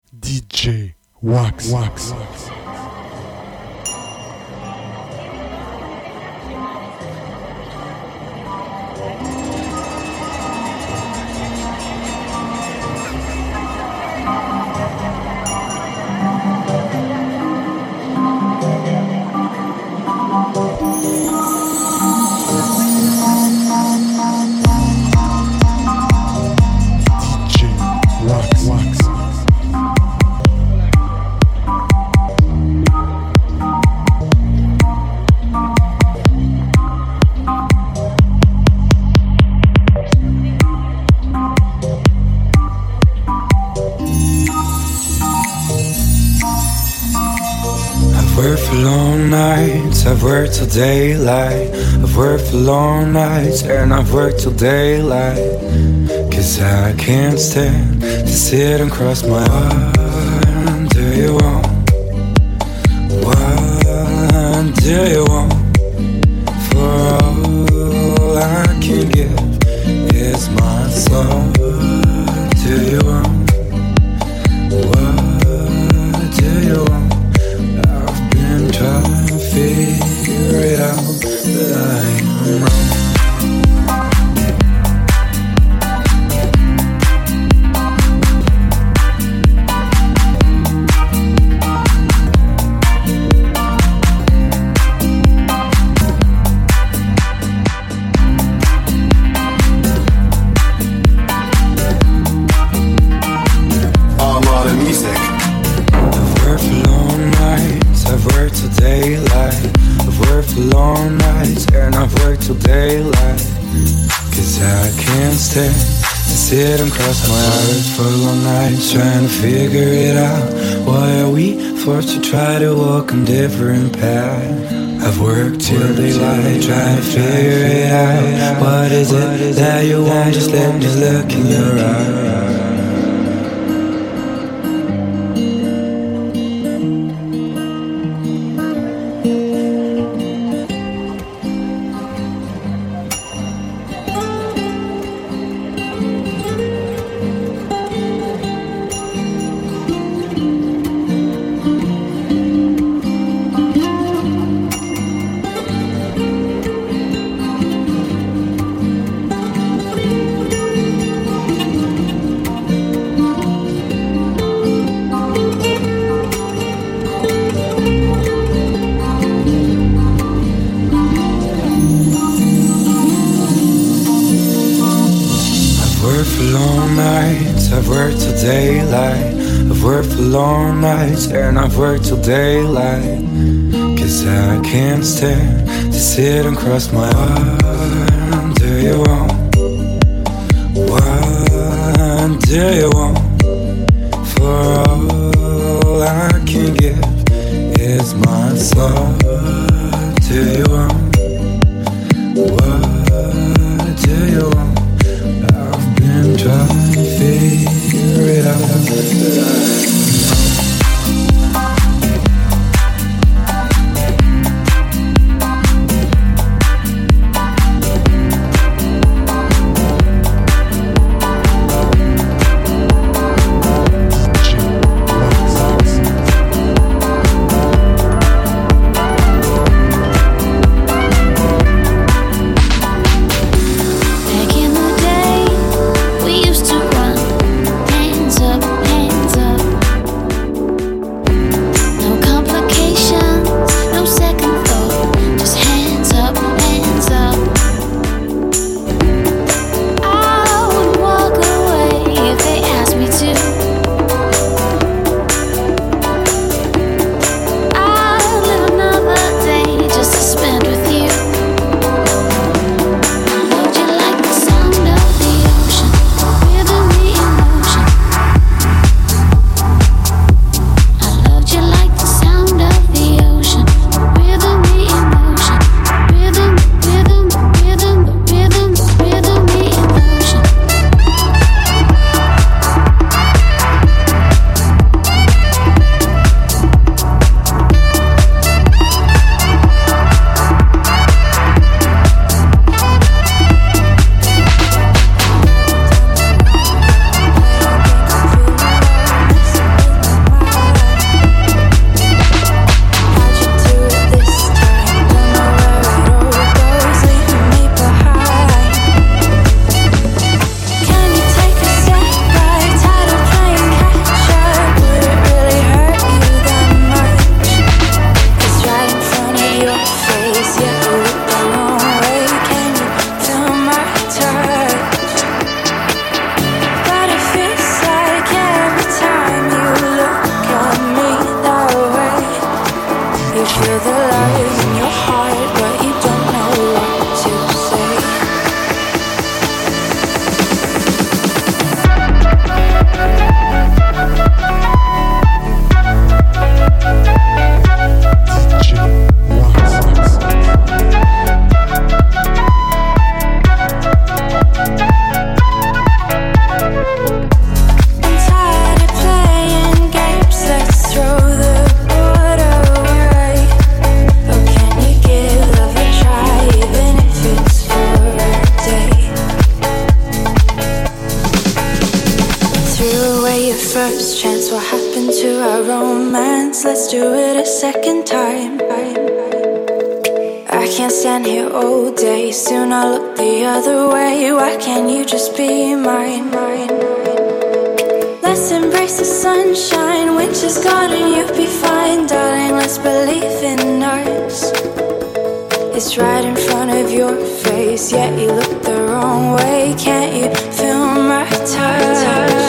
DJ Wax. I've worked till daylight. I've worked for long nights and I've worked till daylight. Cause I can't stand to sit and cross my arms. Do you want? What do you want? For all I can give is my soul. Do you want? What do you want? I've been trying to figure it out, but I am wrong. Long nights and I've worked till daylight. Cause I can't stand to sit and cross my arms for long nights trying to figure it out. Why are we forced to try to walk on different paths? I've worked till daylight trying to figure it out. What is it that you want? Just let me look in your eyes. I've worked till daylight. I've worked for long nights and I've worked till daylight. Cause I can't stand to sit and cross my arms. Do you want? What do you want? For all I can give is my soul. Do you want? What do you want? I've been trying to figure it out. Back in the day, we used to run, hands up, be a first chance. What happened to our romance? Let's do it a second time. I can't stand here all day. Soon I'll look the other way. Why can't you just be mine? Let's embrace the sunshine. Winter's gone and you'll be fine, darling. Let's believe in us. It's right in front of your face, yet you look the wrong way. Can't you feel my touch?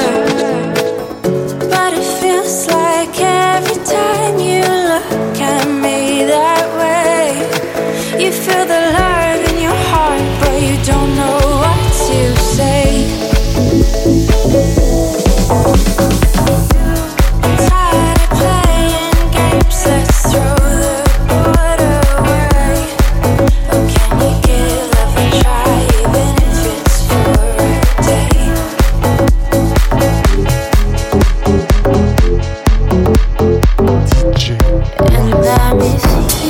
But it feels like every time you look at me that way, you feel the love in your heart, but you don't know what to say. Tired of playing games, let's throw the board away. Oh, can you give love a try, even if it's for a day? And I miss you.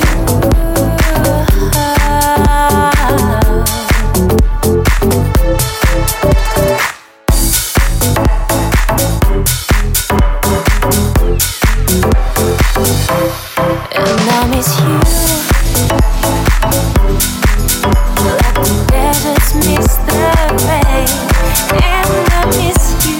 And I miss you, like the deserts miss the rain. And I miss you.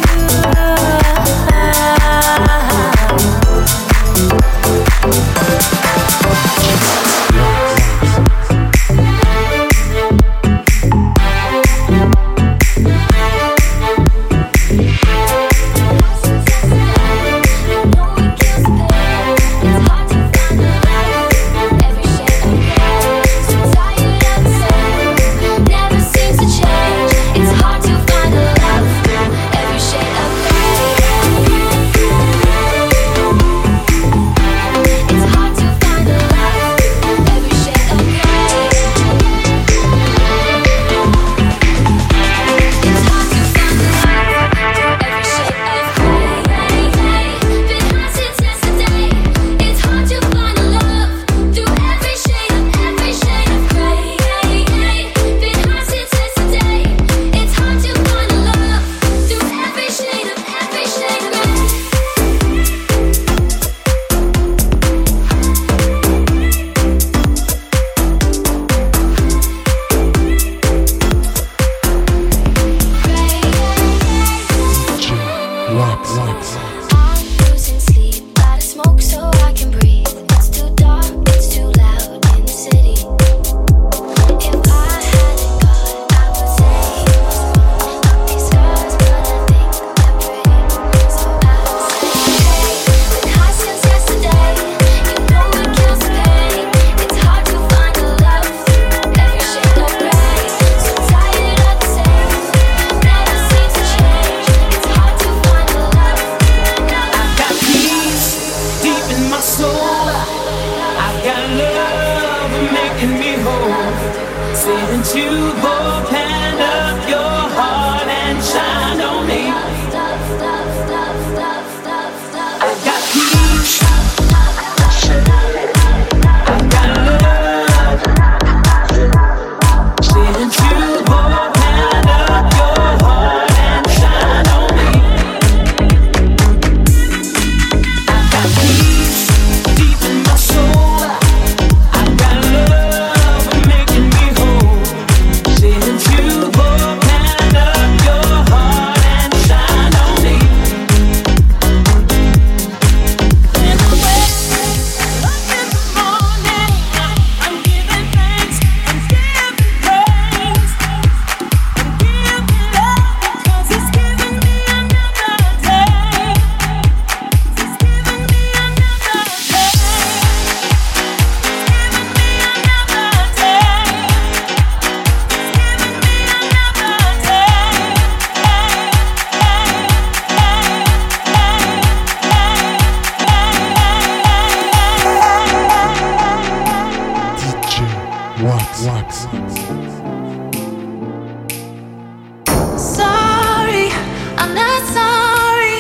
Sorry, I'm not sorry.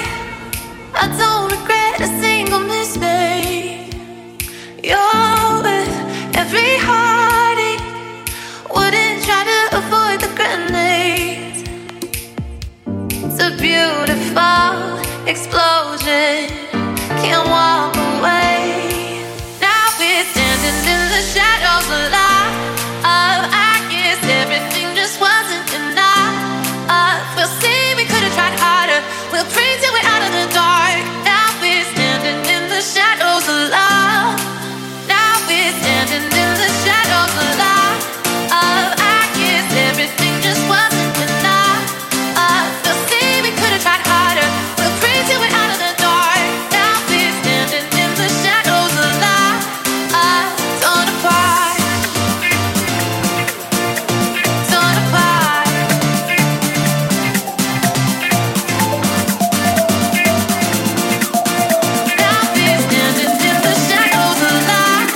I don't regret a single mistake. You're with every heartache. Wouldn't try to avoid the grenades. So beautiful, explosion. Can't walk away. Now we're standing in the shadows alive. I guess everything just wasn't enough. We'll see, we could have tried harder. We'll pray till we're out of the dark. Now we're standing in the shadows alive. Now we're standing in the shadows alive. I guess everything just wasn't enough. We'll see, we could have tried harder. We'll pray till we're out of the dark. Now we're standing in the shadows alive. Torn apart. Torn apart. Now we're standing in the shadows alive.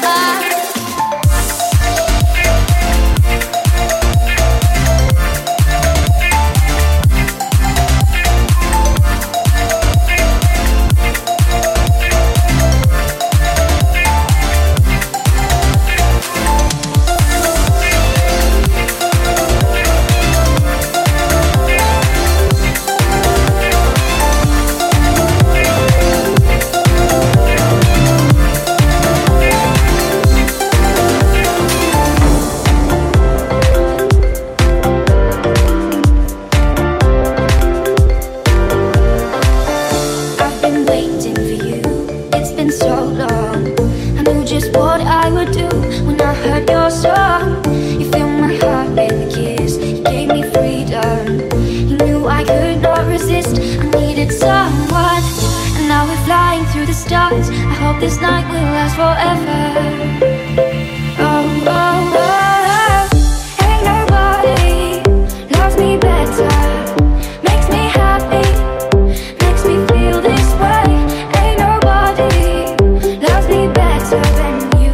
I've been waiting for you. It's been so long. I knew just what I would do when I heard your song. You filled my heart with a kiss. You gave me freedom. You knew I could not resist. I needed someone, and now we're flying through the stars. I hope this night will last forever. Oh, oh, oh. Ain't nobody loves me better. Makes me happy. Makes me feel this way. Ain't nobody loves me better than you.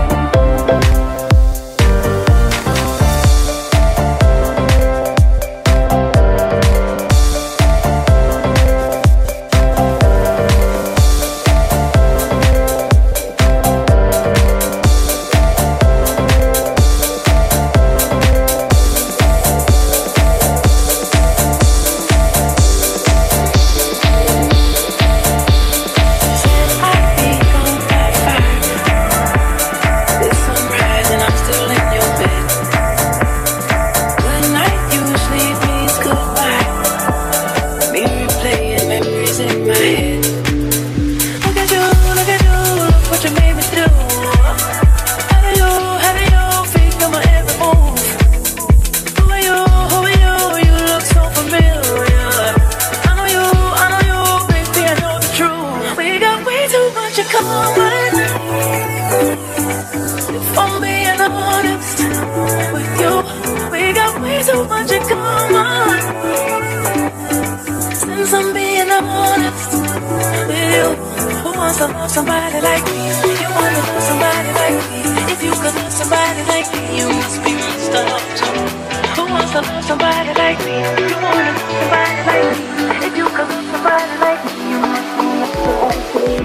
Somebody like me, you wanna love somebody like me. If you could love somebody like me, you must be messed up too. Who wants to love somebody like me? You wanna love somebody like me. If you could love somebody like me, you must be messed up too.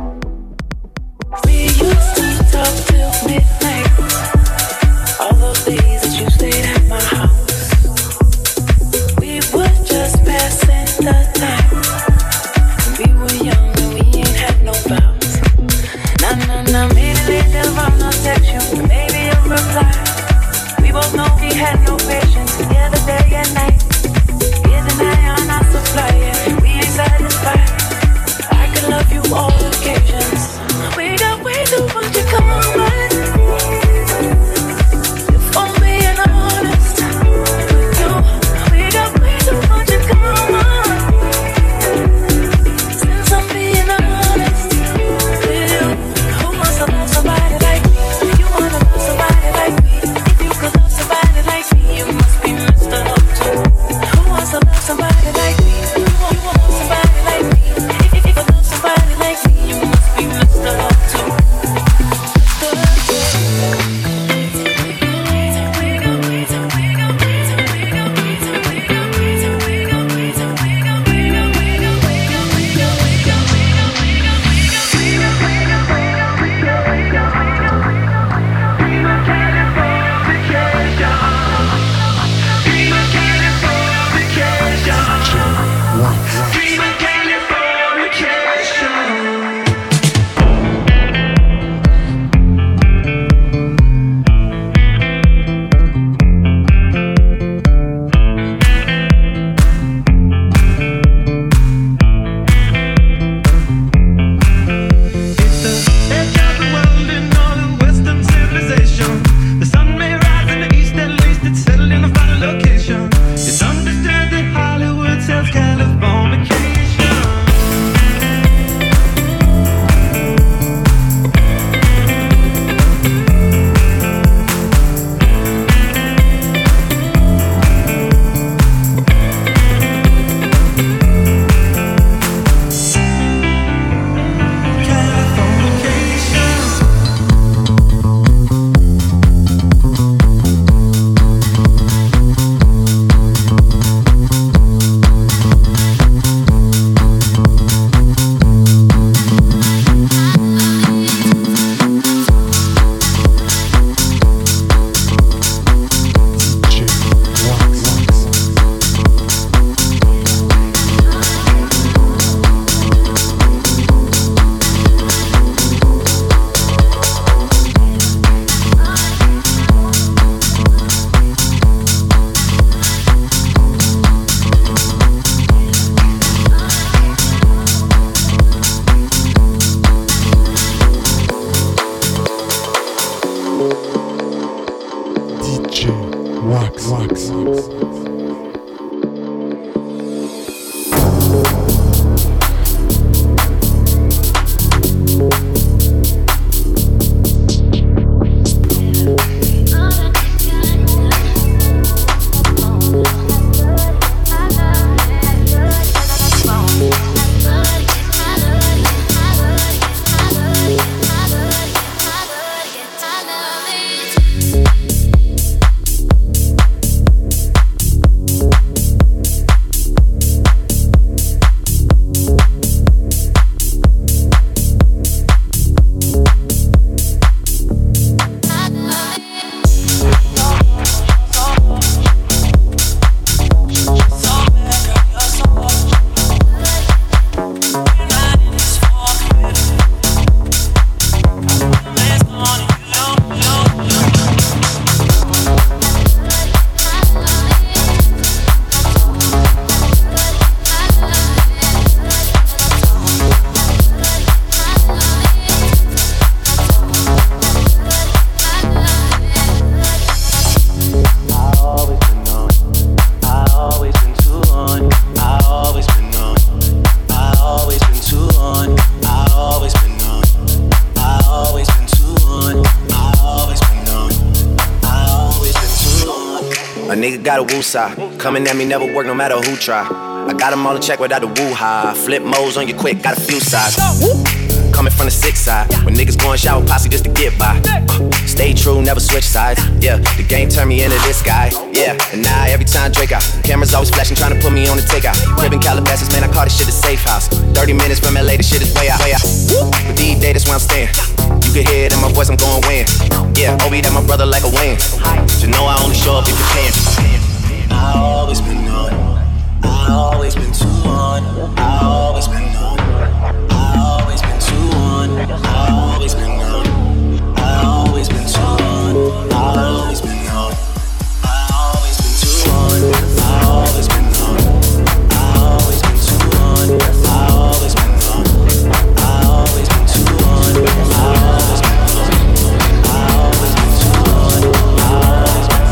We used to talk till midnight. All those days that you stayed at my house, we were just passing the time. We were young and we ain't had no vows. Nah, immediately they'll run, I'll text you, maybe you'll reply. We both know we had no patience together day and night. Here's an eye on our supply, yeah. We ain't satisfied. got a woo side. Coming at me never work no matter who try. I got them all in check without the woo-ha. Flip modes on you quick, got a few sides. Coming from the sick side. When niggas going shower posse just to get by. Stay true, never switch sides. Yeah, the game turned me into this guy. Yeah, and now every time Drake out, cameras always flashing, trying to put me on the takeout. Crib in Calabasas, man, I call this shit a safe house. 30 minutes from LA, the shit is way out, way out. But these days, that's where I'm staying. You can hear it in my voice, I'm going win. Yeah, Obi, that my brother like a win. You know I only show up if you're paying. I always been on. I always been too on. I always been on. I always been too on. I always been on. I always been too on. I always been on. I always been too on. I always been on. I always been too on. I always been on. I always been too on. I always been on. I always been too on. I always been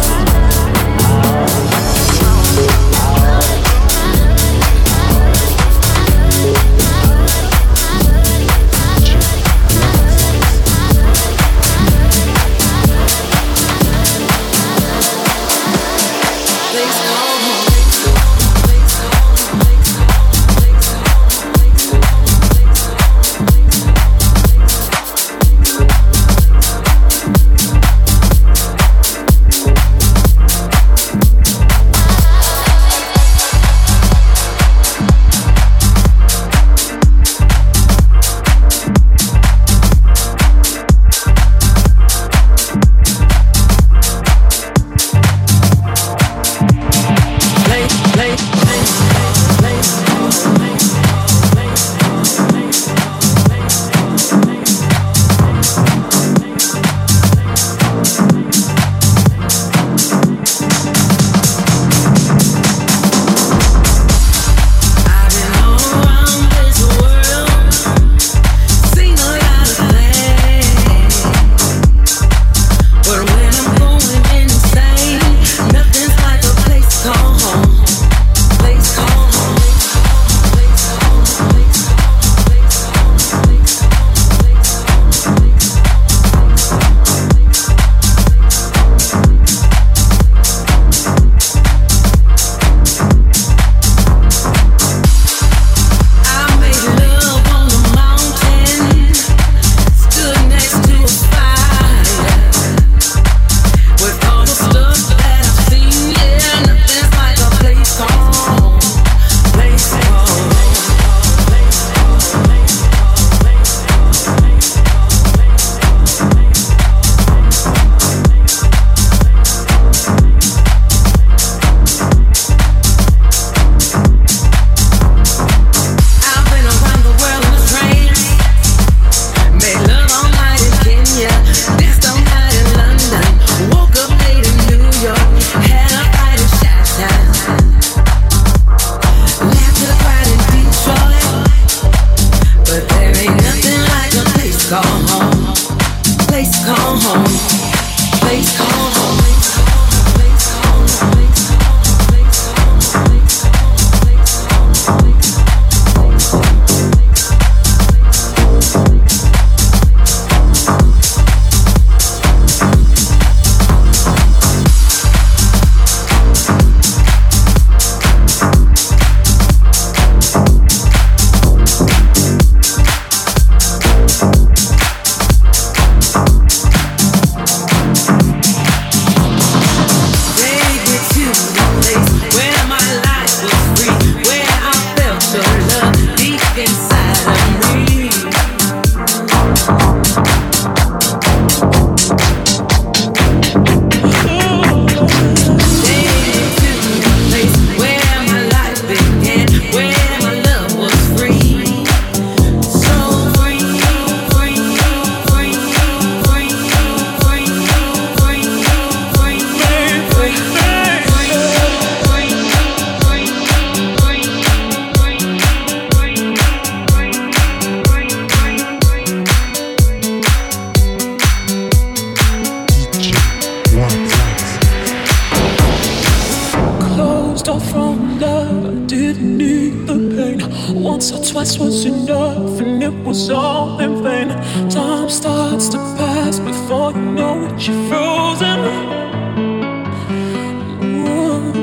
Once or twice was enough, and it was all in vain. Time starts to pass before you know it, you're frozen. Ooh.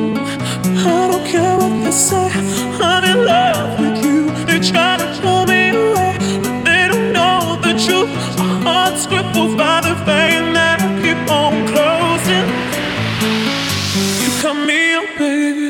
care what they say. I'm in love with you. They try to pull me away, but they don't know the truth. My heart's crippled by the vein that I keep on closing. You cut me up, baby.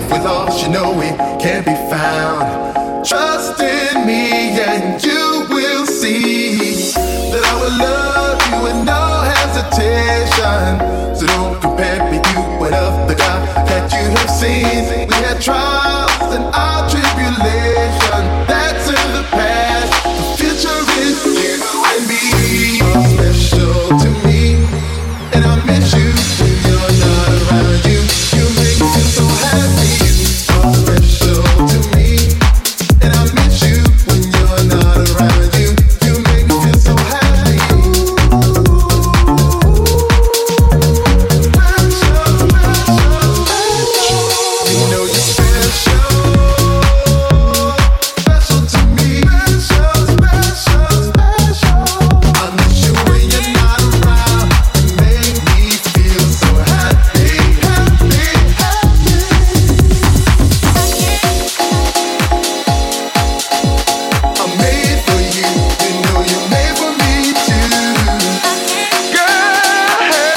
if we lost, you know we can't be found. Trust in me and you will see that I will love you with no hesitation. So don't compare me to what of the God that you have seen. We had trials and our tribulation. That's in the past. The future is you and me. You're special to me, and I miss you when you're not around. You make me feel so happy. You're special to me, and I miss you when you're not around. You make me feel so happy. You know you're special. Special to me. Special, special, special. I miss you when you're not around. You make me feel so happy, happy, happy. I'm made for you. You know you're made for me too. Girl,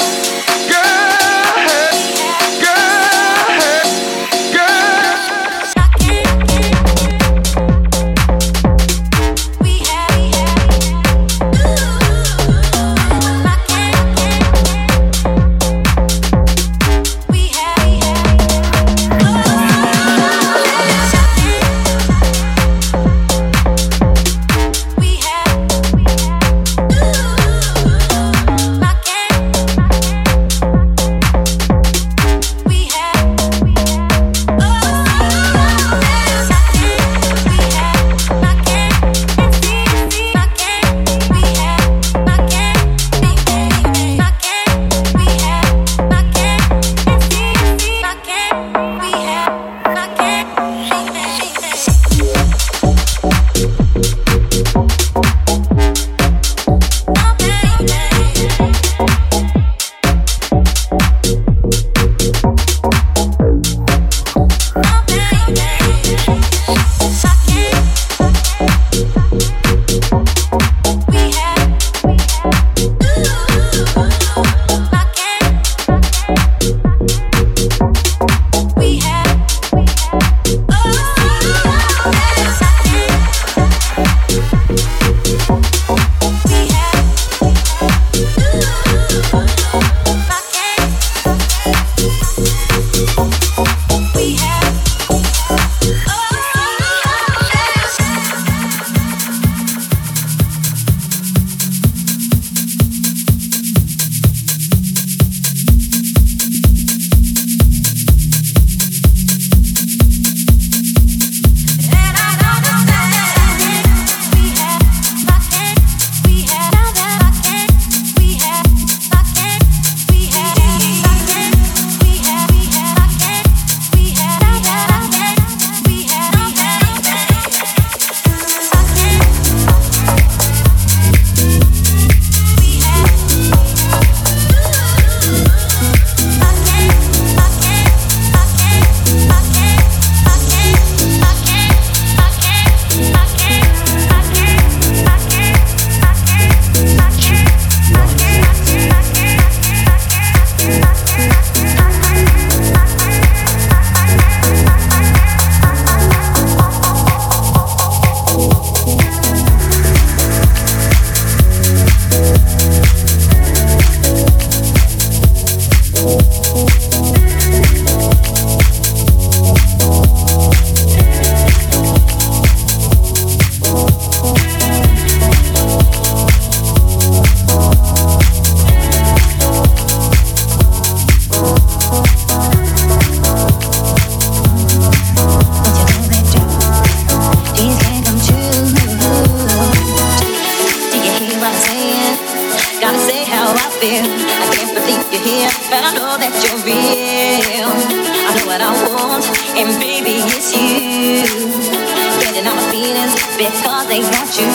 because they want you.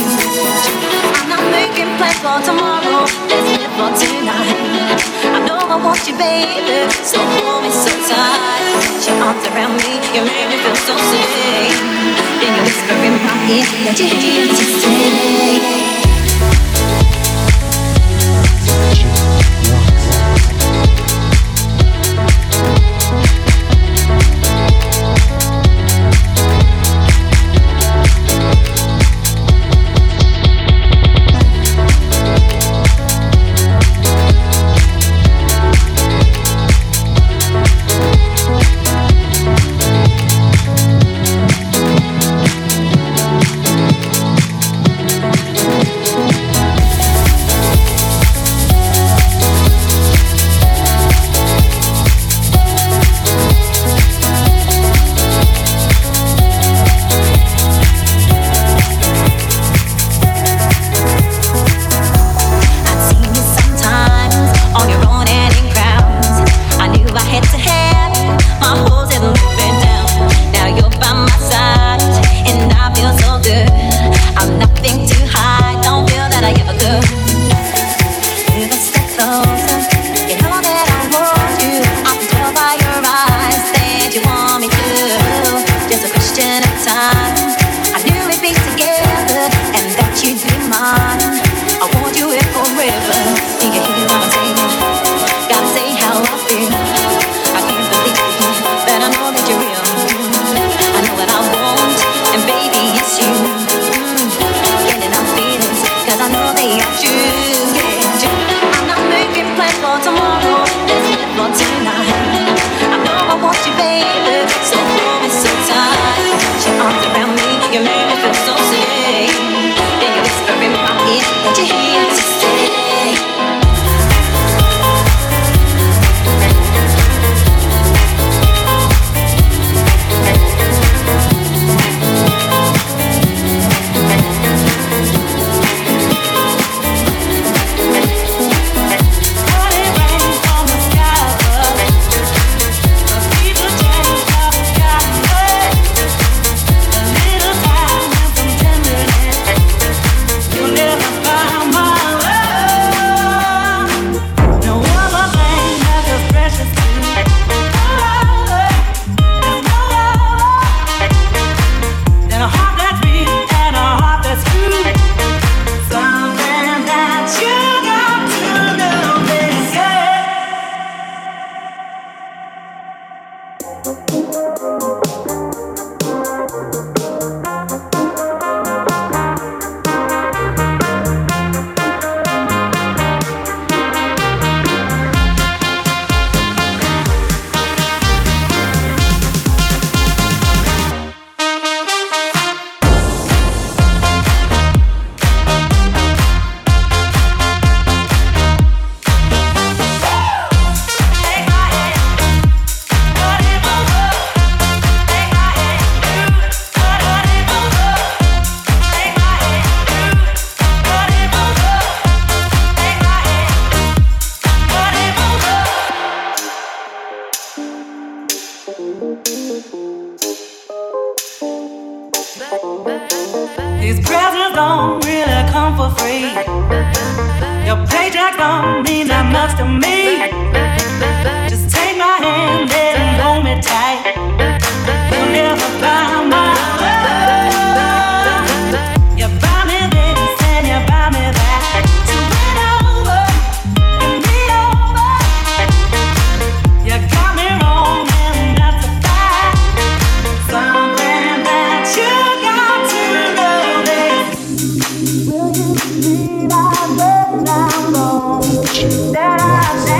I'm not making plans for tomorrow, let's live for tonight. I know I want you, baby, so hold me so tight. Put your arms around me, you make me feel so safe. Then you whisper in my ear that you hear me say. These presents don't really come for free. Your paycheck don't mean that much to me. Just take my hand and hold me tight. You'll never find my love. You buy me this and you buy me that. So win over and be over. You got me wrong and that's a fact. Something that you got to know is, will you believe I let down wrong? That I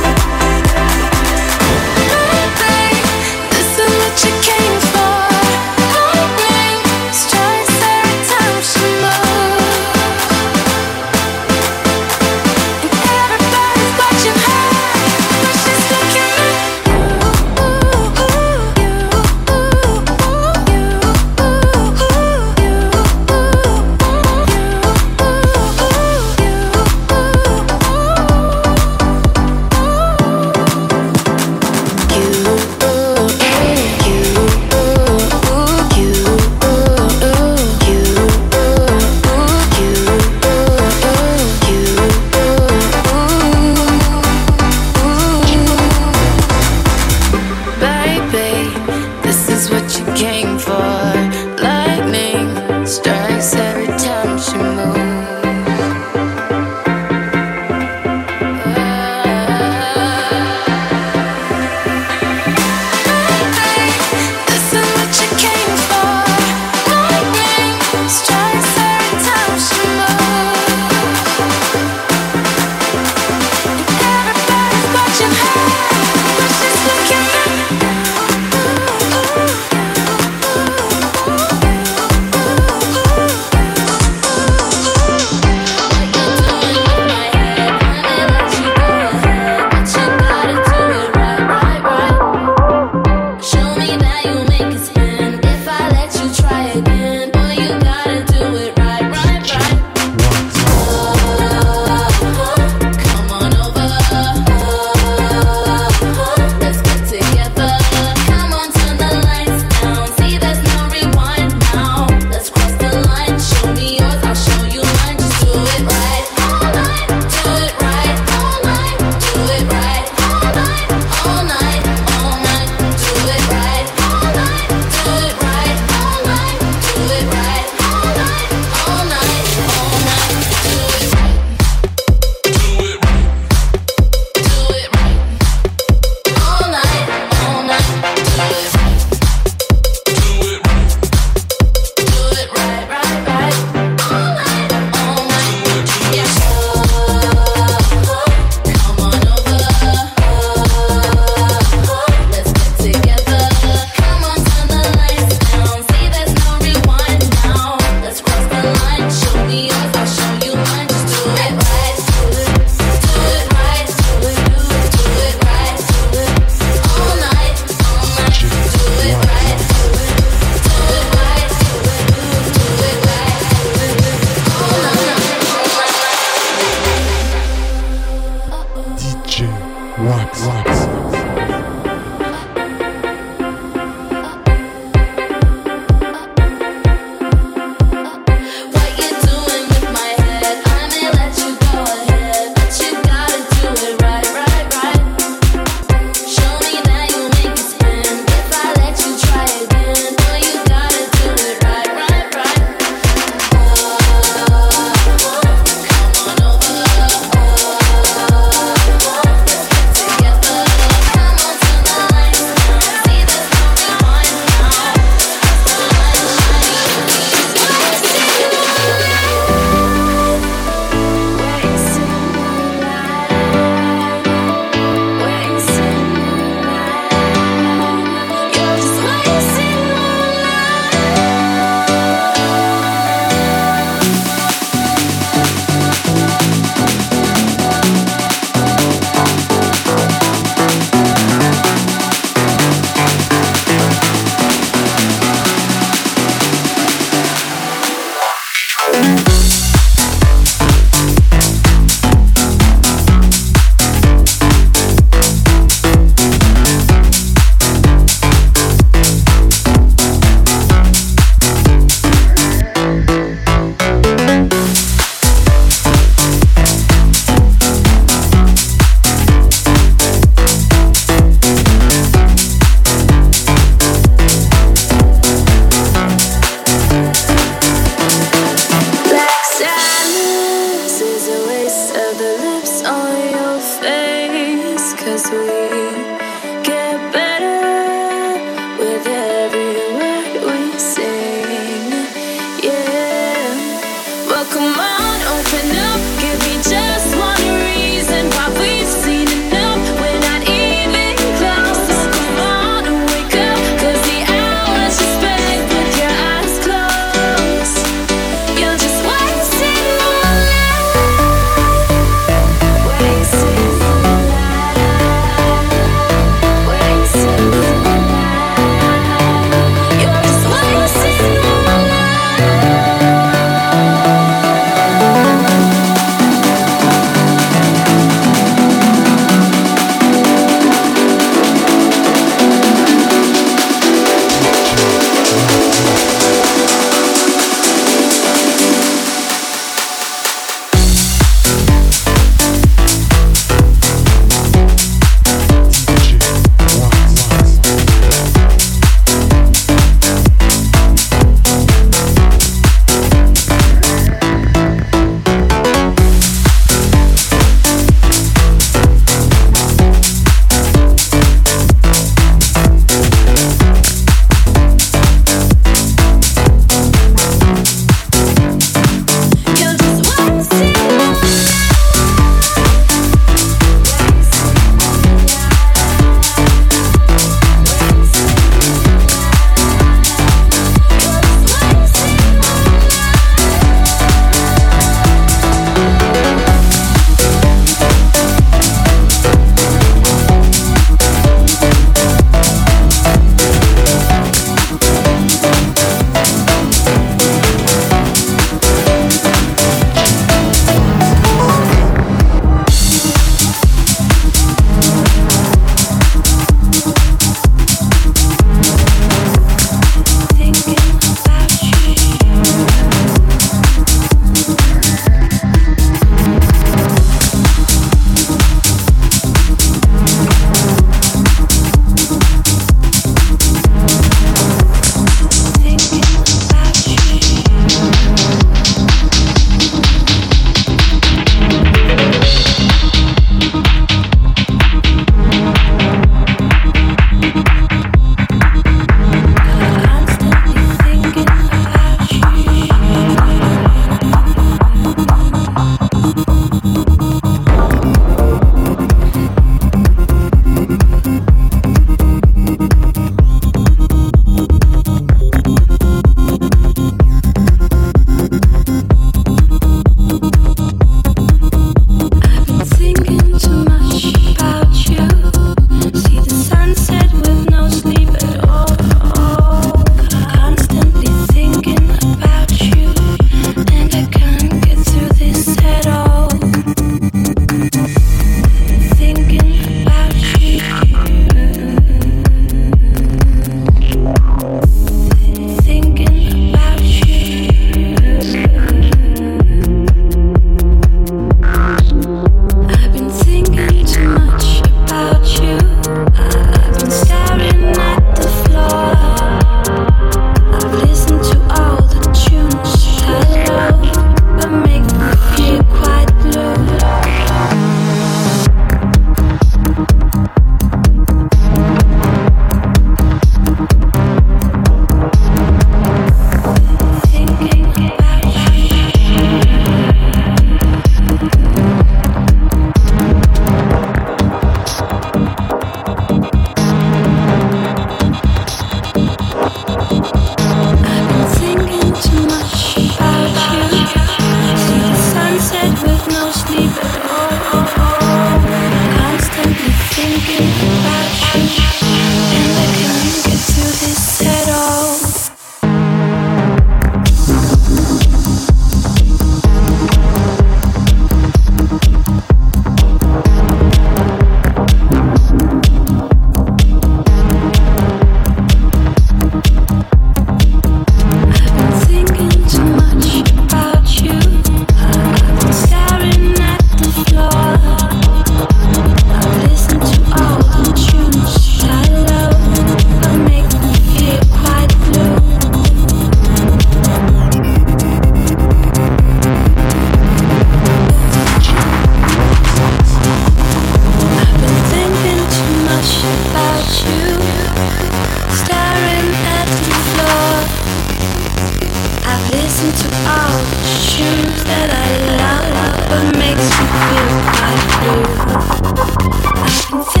listen to all the tunes that I love, but makes me feel like blue. I can feel